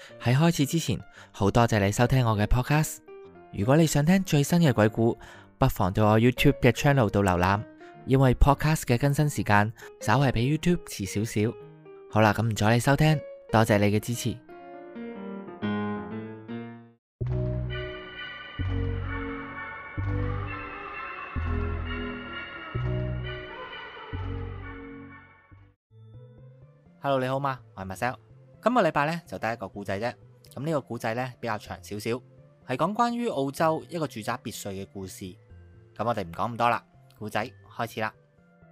喺開始之前，好多謝你收聽我嘅 podcast。如果你想聽最新嘅鬼故，不妨到我 YouTube 嘅 channel 度瀏覽，因為 podcast 嘅更新時間稍為比 YouTube 遲少少。好啦，咁唔阻你收聽，多謝你嘅支持。Hello， 你好嗎？我係 Marcel。今個禮拜呢，就第一個故仔啫。咁呢個故仔呢，比較長少少，係講關於澳洲一個住宅別墅嘅故事。咁我哋唔講咁多啦，故仔開始啦。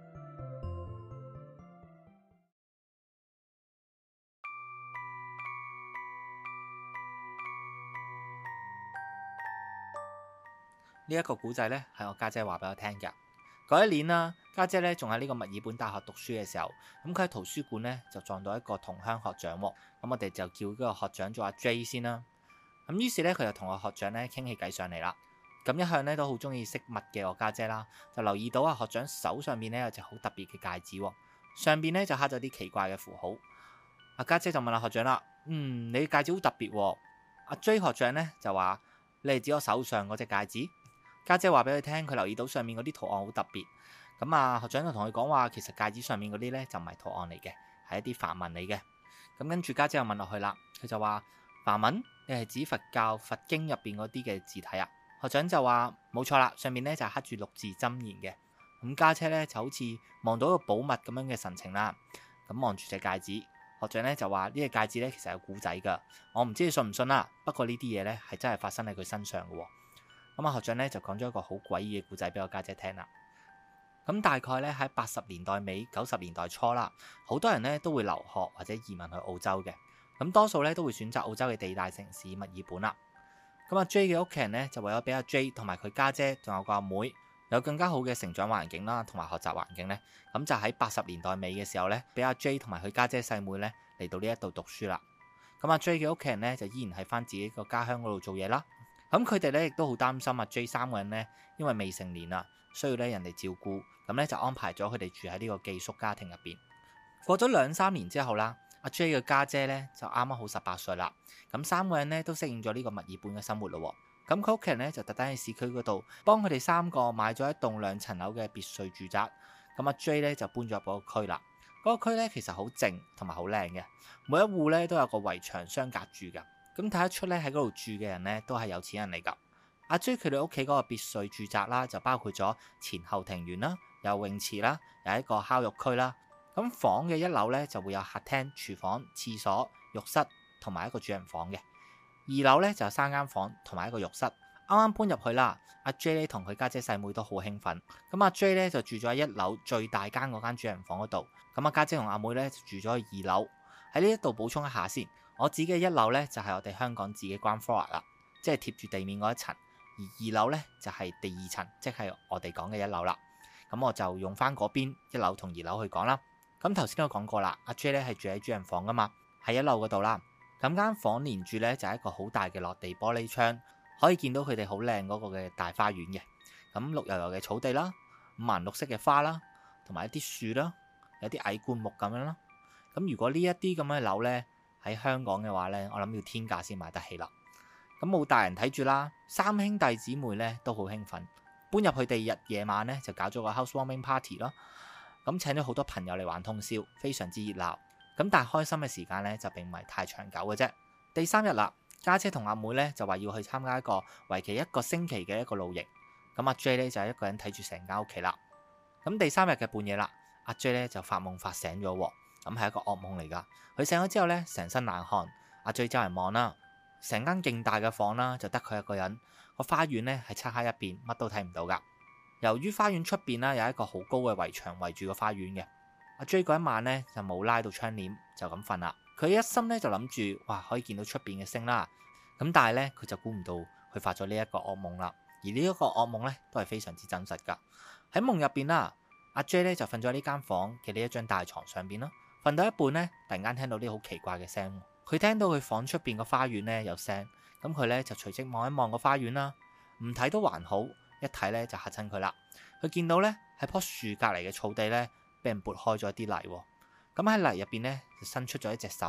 呢一個故仔呢，係我家姐話俾我聽嘅。嗰一年啦，家姐呢仲喺呢個墨爾本大學讀書嘅時候，咁佢喺圖書館呢就撞到一個同鄉學長，咁我哋就叫嗰個學長做阿 J 先啦。咁於是呢，佢就同個學長呢傾起偈上嚟啦。咁一向呢都好中意飾物嘅我家姐啦，就留意到阿學長手上面呢有隻好特別嘅戒指，上邊呢就刻咗啲奇怪嘅符號。阿家姐就問阿學長啦：你嘅戒指好特別。阿 J 學長呢就話：你係指我手上嗰隻戒指？家姐話俾佢聽，佢留意到上面嗰啲圖案好特別。咁啊，學長就同佢講話，其實戒指上面嗰啲呢就唔係圖案嚟嘅，係一啲梵文嚟嘅。咁跟住家姐又問落去啦，佢就話：梵文，你係指佛教佛經入邊嗰啲嘅字體啊？學長就話：冇錯啦，上面呢就刻住六字真言嘅。咁家姐呢就好似望到一個寶物咁樣嘅神情啦。咁望住隻戒指，學長呢就話：呢隻戒指呢其實有古仔噶，我唔知你信唔信啦。不過呢啲嘢呢係真係發生喺佢身上嘅。咁啊，學長咧就講咗一個好詭異嘅故仔俾我家姐聽啦。咁大概咧喺80年代尾90年代初啦，好多人咧都會留學或者移民去澳洲嘅。咁多數咧都會選擇澳洲嘅地大城市墨爾本啦。咁阿 J 嘅屋企人咧就為咗俾阿 J 同埋佢家姐仲有個阿妹有更加好嘅成長環境啦，同埋學習環境咧，咁就喺80年代尾嘅時候咧，俾阿 J 同埋佢家姐細妹咧嚟到呢一度讀書啦。咁阿 J 嘅屋企人咧就依然喺翻自己個家鄉嗰度做嘢啦。咁佢哋咧亦都好擔心阿 J 三個人咧，因為未成年啊，需要咧人哋照顧，咁咧就安排咗佢哋住喺呢個寄宿家庭入邊。過咗2-3年之後啦，阿 J 嘅家姐咧就啱啱好18歲啦，咁三個人咧都適應咗呢個墨爾本嘅生活咯。咁佢屋企人咧就特登喺市區嗰度幫佢哋3個買咗一棟2層樓嘅別墅住宅。咁阿 J 咧就搬咗入嗰個區啦。嗰個區咧其實好靜同埋好靚嘅，每一戶咧都有個圍牆相隔住噶。咁睇得出咧喺嗰度住嘅人咧都係有錢人嚟噶。阿 J 佢哋屋企嗰個別墅住宅啦，就包括咗前後庭園啦，有泳池啦，有一個烤肉區啦。咁房嘅1樓咧就會有客廳、廚房、廁所、浴室同埋一個主人房嘅。2樓咧就有3間房同埋一個浴室。啱啱搬入去啦，阿 J 咧同佢家姐細妹都好興奮。咁阿 J 咧就住咗喺1樓最大間嗰間主人房嗰度。咁阿家姐同阿妹咧就住咗去2樓。喺呢一度補充一下先。我指嘅1樓咧就係我哋香港自己 ground floor 啦，即係貼住地面嗰一層；而2樓咧就係第2層，即係我哋講嘅1樓啦。咁我就用翻嗰邊1樓同2樓去講啦。咁頭先都講過啦，阿 J 咧係住喺主人房噶嘛，喺1樓嗰度啦。咁間房連住咧就係一個好大嘅落地玻璃窗，可以見到佢哋好靚嗰個嘅大花園嘅。咁綠油油嘅草地啦，五顏六色嘅花啦，同埋一啲樹啦，有啲矮灌木咁樣啦。咁如果呢一啲咁嘅樓咧，喺香港嘅話呢，我諗要天價先買得起啦。咁冇大人睇住啦，3兄弟姊妹呢都好興奮，搬入去第2日夜晚呢，就搞咗個 housewarming party 咯。咁請咗好多朋友嚟玩通宵，非常之熱鬧。咁但係開心嘅時間呢，就並唔係太長久嘅啫。第3日啦，家姐同阿妹呢就話要去參加一個為期1個星期嘅一個露營。咁阿 J 呢就係一個人睇住成間屋企啦。咁第3日嘅半夜啦，阿 J 呢就發夢發醒咗喎。咁係一個噩夢嚟噶。佢醒咗之後呢，成身冷汗。阿 J 周圍望啦，成間勁大嘅房啦，就得佢一個人。個花園呢係漆黑一邊，乜都睇唔到噶。由於花園出邊啦有一個好高嘅圍牆圍住個花園嘅，阿 J 嗰一晚呢就冇拉到窗簾，就咁瞓啦。佢一心呢就諗住，哇，可以見到出邊嘅星啦。咁但係呢，佢就估唔到佢發咗呢一個噩夢啦。而呢一個噩夢呢都係非常之真實噶。喺夢入邊啦，阿 J 呢就瞓咗喺呢間房嘅呢一張大床上邊啦。瞓到一半呢，突然間聽到啲好奇怪嘅聲。佢聽到佢房出邊個花園呢有聲，咁佢呢就隨即望一望個花園啦。唔睇都還好，一睇呢就嚇親佢啦。佢見到呢喺棵樹隔離嘅草地呢，俾人撥開咗啲泥。咁喺泥入邊呢，就伸出咗一隻手，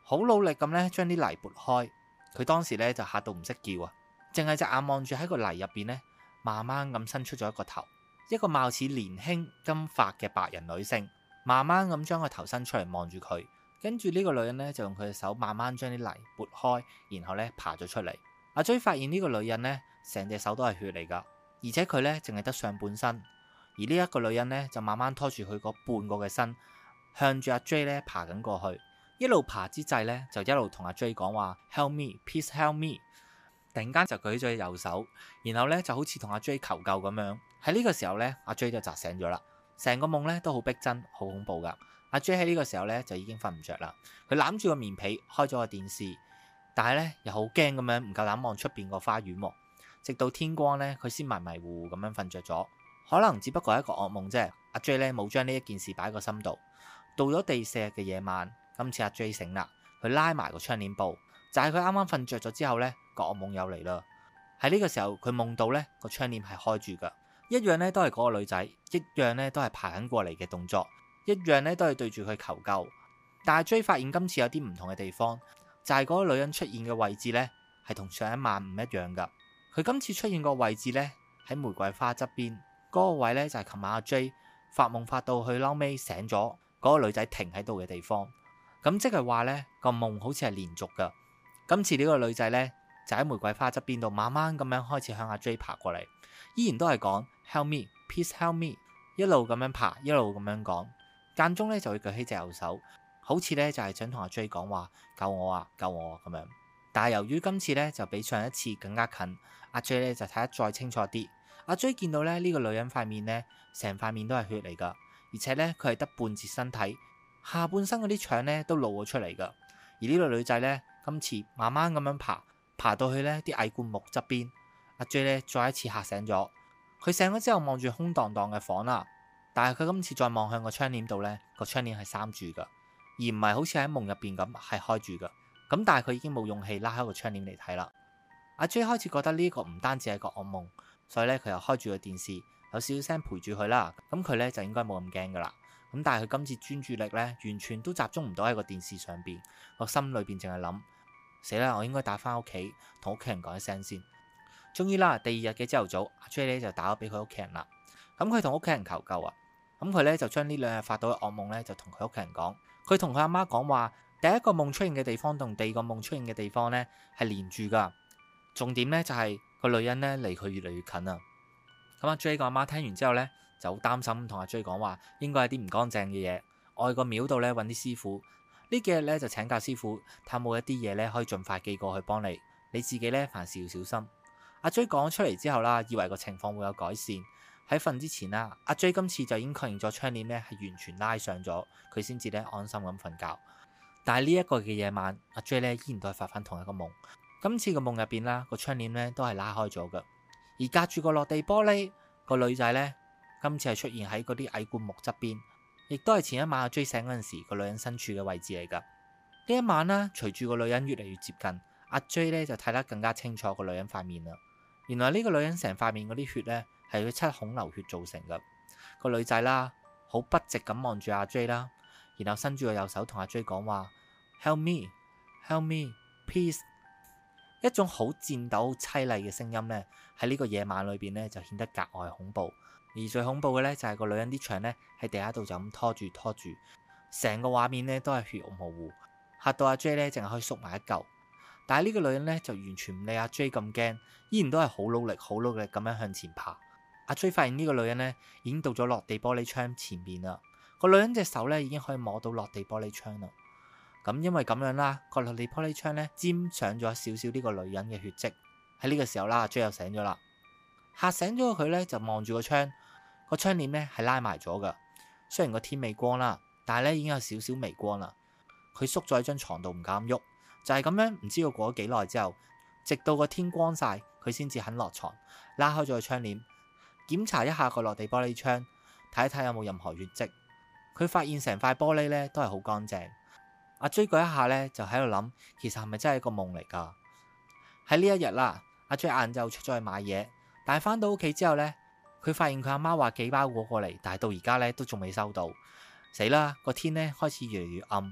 好努力咁咧將啲泥撥開。佢當時咧就嚇到唔識叫啊，淨係隻眼望住喺個泥入邊咧，慢慢咁伸出咗一個頭，一個貌似年輕金髮嘅白人女性，慢慢咁將個頭伸出嚟望住佢。跟住呢個女人咧就用佢嘅手慢慢將啲泥撥開，然後咧爬咗出嚟。阿 J 發現呢個女人咧成隻手都係血嚟噶，而且佢咧淨係得上半身。而呢一個女人咧就慢慢拖住佢嗰半個嘅身，向住阿 J 咧爬緊過去。一路爬之際咧就一路同阿 J 講話 Help me, please help me。突然間就舉咗隻右手，然後咧就好似同阿 J 求救咁樣。喺呢個時候咧，阿 J 就扎醒咗啦。成個夢咧都好逼真，好恐怖噶。阿 J 喺呢個時候咧就已經瞓唔着啦。佢攬住個棉被，開咗個電視，但係咧又好驚咁樣，唔夠膽望出邊個花園。直到天光咧，佢先迷迷糊糊咁樣瞓着咗。可能只不過係一個噩夢啫。阿 J 咧冇將呢一件事擺喺個心度。到咗第4日嘅夜晚，今次阿 J 醒啦，佢拉埋個窗簾布，就係佢啱啱瞓着咗之後咧，個噩夢又嚟啦。喺呢個時候，佢夢到咧個窗簾係開住噶，一樣咧都係嗰個女仔，一樣咧都係爬緊過嚟嘅動作，一樣咧都係對住佢求救。但係 J 發現今次有啲唔同嘅地方，就係嗰個女人出現嘅位置咧係同上一晚唔一樣噶。佢今次出現個位置咧喺玫瑰花側邊，嗰個位咧就係琴晚阿 J 發夢發到去撈尾醒咗嗰個女仔停喺度嘅地方。咁即係話咧個夢好似係連續噶。今次呢個女仔咧就喺玫瑰花側邊度慢慢咁樣開始向阿 J 爬過嚟，依然都係講 Help me, please help me， 一路咁樣爬，一路咁樣講，間中咧就會舉起隻右手，好似咧就係想同阿 J 講話救我啊，救我啊咁樣。但係由於今次咧就比上一次更加近，阿 J 咧就睇得再清楚啲。阿 J 見到咧呢個女人塊面咧成塊面都係血嚟噶，而且咧佢係得半截身體，下半身嗰啲腸咧都露咗出嚟噶。而呢個女仔咧今次慢慢咁樣爬到去呢啲矮灌木側邊。阿 J 咧再一次嚇醒咗，佢醒咗之後望住空蕩蕩嘅房啦，但係佢今次再望向個窗簾度呢，個窗簾係閂住噶，而唔係好似喺夢入邊咁係開住噶。咁但係佢已經冇勇氣拉開個窗簾嚟睇啦。阿 J 開始覺得呢個唔單止係個噩夢，所以咧佢又開住個電視，有少少聲陪住佢啦。咁佢咧就應該冇咁驚噶啦。咁但係佢今次專注力咧完全都集中唔到喺個電視上邊，個心裏邊淨係諗死啦，我應該打翻屋企同屋企人講一聲先。終於啦，第2日嘅朝頭早，阿 J 咧就打咗俾佢屋企人啦。咁佢同屋企人求救啊。咁佢咧就將呢2日發到嘅噩夢咧就同佢屋企人講。佢同佢阿媽講話，第一個夢出現嘅地方同第2個夢出現嘅地方咧係連住噶。重點咧就係個女人咧離佢越嚟越近啊。咁阿 J 個阿媽聽完之後咧就好擔心，同阿 J 講話應該係啲唔乾淨嘅嘢，我去個廟度咧揾啲師傅，呢幾日咧就請教師傅睇下冇一啲嘢咧可以盡快寄過去幫你，你自己咧凡事要小心。阿 J 講咗出嚟之後啦，以為個情況會有改善。喺瞓之前啦，阿 J 今次就已經確認咗窗簾咧係完全拉上咗，佢先至咧安心咁瞓覺。但係呢一個嘅夜晚，阿 J 咧依然都係發翻同一個夢。今次個夢入邊啦，個窗簾咧都係拉開咗噶，而隔住個落地玻璃個女仔咧，今次係出現喺嗰啲矮灌木側邊，亦都係前一晚阿 J 醒嗰陣時個女人身處嘅位置嚟噶。呢一晚啦，隨住個女人越嚟越接近，阿 J 咧就睇得更加清楚個女人塊面啦。原來呢個女人成塊面嗰啲血咧係佢7孔流血造成噶。個女仔啦好筆直咁望住阿 J 啦，然後伸住個右手同阿 J 講話 Help me, help me, please。一種好顫抖、淒厲嘅聲音咧喺呢個夜晚裏邊咧就顯得格外恐怖。而最恐怖嘅咧就係個女人啲腸咧喺地下度就咁拖住，成個畫面咧都係血肉模糊，嚇到阿 J 咧淨係可以縮埋一嚿。但係呢個女人咧就完全唔理阿 J 咁驚，依然都係好努力咁樣向前爬。阿 J 發現呢個女人咧已經到咗落地玻璃窗前面啦，個女人隻手咧已經可以摸到落地玻璃窗啦。咁因為咁樣啦，個落地玻璃窗咧沾上咗少少呢個女人嘅血跡。喺呢個時候啦，阿 J 又醒咗啦，嚇醒咗佢咧就望住個窗，個窗簾咧係拉埋咗噶。雖然個天未光啦，但係咧已經有少少微光啦。佢縮咗喺張床度唔敢喐，就係咁樣，唔知道過咗幾耐之後，直到個天光晒，佢先至肯落床，拉開咗個窗簾，檢查一下個落地玻璃窗，睇一睇有冇任何血跡。佢發現成塊玻璃咧都係好乾淨。阿 J 嗰一下咧就喺度諗，其實係咪真係一個夢嚟噶？喺呢一日啦，阿 J 晏晝出咗去買嘢，但係翻到屋企之後咧，佢發現佢阿媽話寄包裹過嚟，但係到而家咧都仲未收到。死啦！個天咧開始越嚟越暗，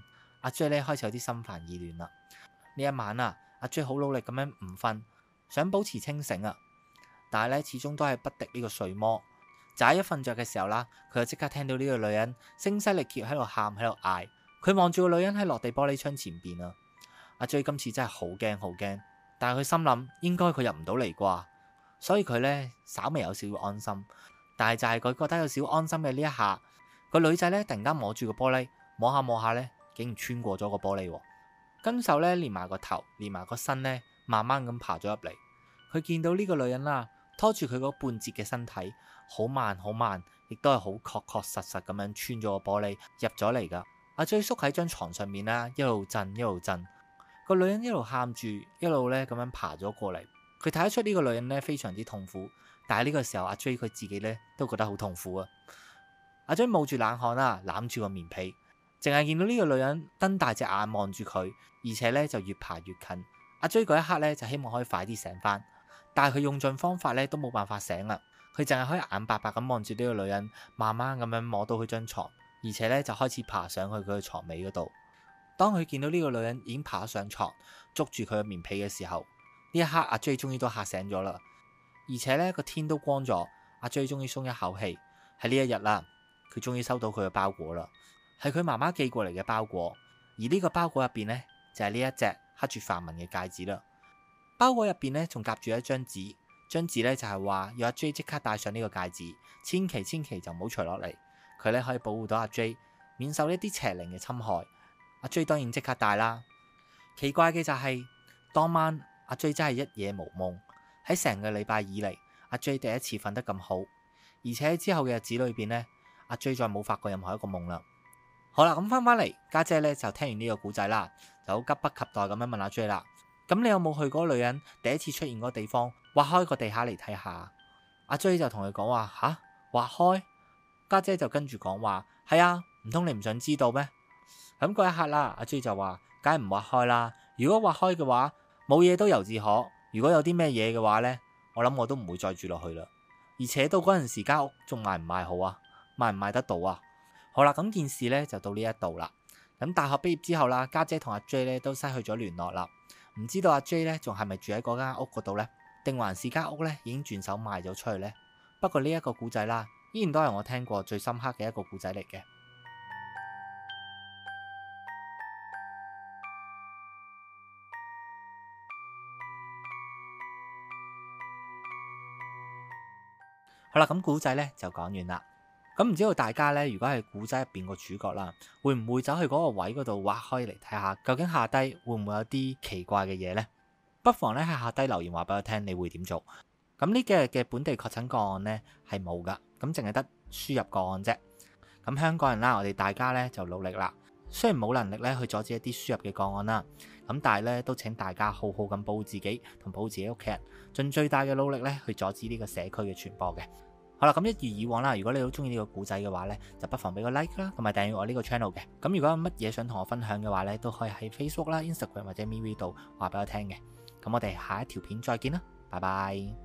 阿 J 咧開始有啲心煩意亂啦。呢一晚啊，阿 J 好努力咁樣唔瞓，想保持清醒啊，但係咧始終都係不敵呢個睡魔。就喺一瞓着嘅時候啦，佢就即刻聽到呢個女人聲嘶力竭喺度喊，喺度嗌。佢望住個女人喺落地玻璃窗前邊啊。阿 J 今次真係好驚好驚，但係佢心諗應該佢入唔到嚟啩，所以佢咧稍微有少少安心。但係就係佢覺得有少少安心嘅呢一下，個女仔咧突然間摸住個玻璃，摸下摸下咧，竟然穿過咗個玻璃，跟手咧連埋個頭，連埋個身咧，慢慢咁爬咗入嚟。佢見到呢個女人啦，拖住佢嗰半截嘅身體，好慢好慢，亦都係好確確實實咁樣穿咗個玻璃入咗嚟噶。阿 J 縮喺張床上面啦，一路震一路震。個女人一路喊住，一路咧咁樣爬咗過嚟。佢睇得出呢個女人咧非常之痛苦，但係呢個時候阿 J 佢自己咧都覺得好痛苦啊。阿 J 冒住冷汗啦，攬住個棉被，淨係見到呢個女人瞪大隻眼望住佢，而且咧就越爬越近。阿 J 嗰一刻咧就希望可以快啲醒翻，但係佢用盡方法咧都冇辦法醒啦。佢淨係可以眼白白咁望住呢個女人，慢慢咁樣摸到佢張床，而且咧就開始爬上去佢嘅床尾嗰度。當佢見到呢個女人已經爬上床，捉住佢嘅棉被嘅時候，呢一刻阿 J 終於都嚇醒咗啦。而且咧個天都光咗，阿 J 終於鬆一口氣。喺呢一日啦，佢終於收到佢嘅包裹啦，係佢媽媽寄過嚟嘅包裹。而呢個包裹入邊呢，就係呢一隻刻住梵文嘅戒指啦。包裹入邊呢，仲夾住一張紙，張紙呢就係話要阿 J 即刻戴上呢個戒指，千祈就唔好除落嚟。佢咧可以保護到阿 J 免受呢啲邪靈嘅侵害。阿 J 當然即刻戴啦。奇怪嘅就係當晚阿 J 真係一夜無夢。喺成個禮拜以嚟，阿 J 第一次瞓得咁好，而且之後嘅日子裏邊呢，阿 J 再冇發過任何一個夢啦。好啦，咁翻嚟，家姐咧就聽完呢個故仔啦，就好急不及待咁樣問阿 J 啦。咁你有冇去嗰個女人第一次出現嗰個地方，挖開個地下嚟睇下？阿 J 就同佢講話吓，挖開？家姐就跟住講話係啊，唔通你唔想知道咩？咁嗰一刻啦，阿 J 就話梗係唔挖開啦。如果挖開嘅話，冇嘢都由自可。如果有啲咩嘢嘅話呢，我諗我都唔會再住落去啦。而且到嗰陣時間屋仲賣唔賣好啊？賣唔賣得到啊？好啦，咁件事呢就到呢一度啦。咁大學畢業之後啦，家姐同阿 J 呢都失去咗聯絡啦。唔知道阿 J 呢仲係咪住喺嗰間屋嗰度呢？定還是間屋呢已經轉手賣咗出去呢？不過呢一個故仔啦，依然都係我聽過最深刻嘅一個故仔嚟嘅。好啦，咁故仔咧就講完啦。咁唔知道大家咧，如果係故仔入邊個主角啦，會唔會走去嗰個位嗰度挖開嚟睇下，究竟下低會唔會有啲奇怪嘅嘢呢？不妨咧喺下低留言話俾我聽，你會點做？咁呢幾日嘅本地確診個案呢係冇噶，咁淨係得輸入個案啫。咁香港人啦，我哋大家咧就努力啦。雖然冇能力咧去阻止一啲輸入嘅個案啦，咁但係咧都請大家好好咁保護自己同保護自己屋企人，盡最大嘅努力咧去阻止呢個社區嘅傳播嘅。好啦，咁一如以往啦，如果你好中意呢個故仔嘅話呢，就不妨俾個 like 啦，同埋訂閱我呢個 channel 嘅。咁如果有乜嘢想同我分享嘅話呢，都可以喺 Facebook 啦、Instagram 或者 MeWe 度話俾我聽嘅。咁我哋下一條片再見啦，拜拜。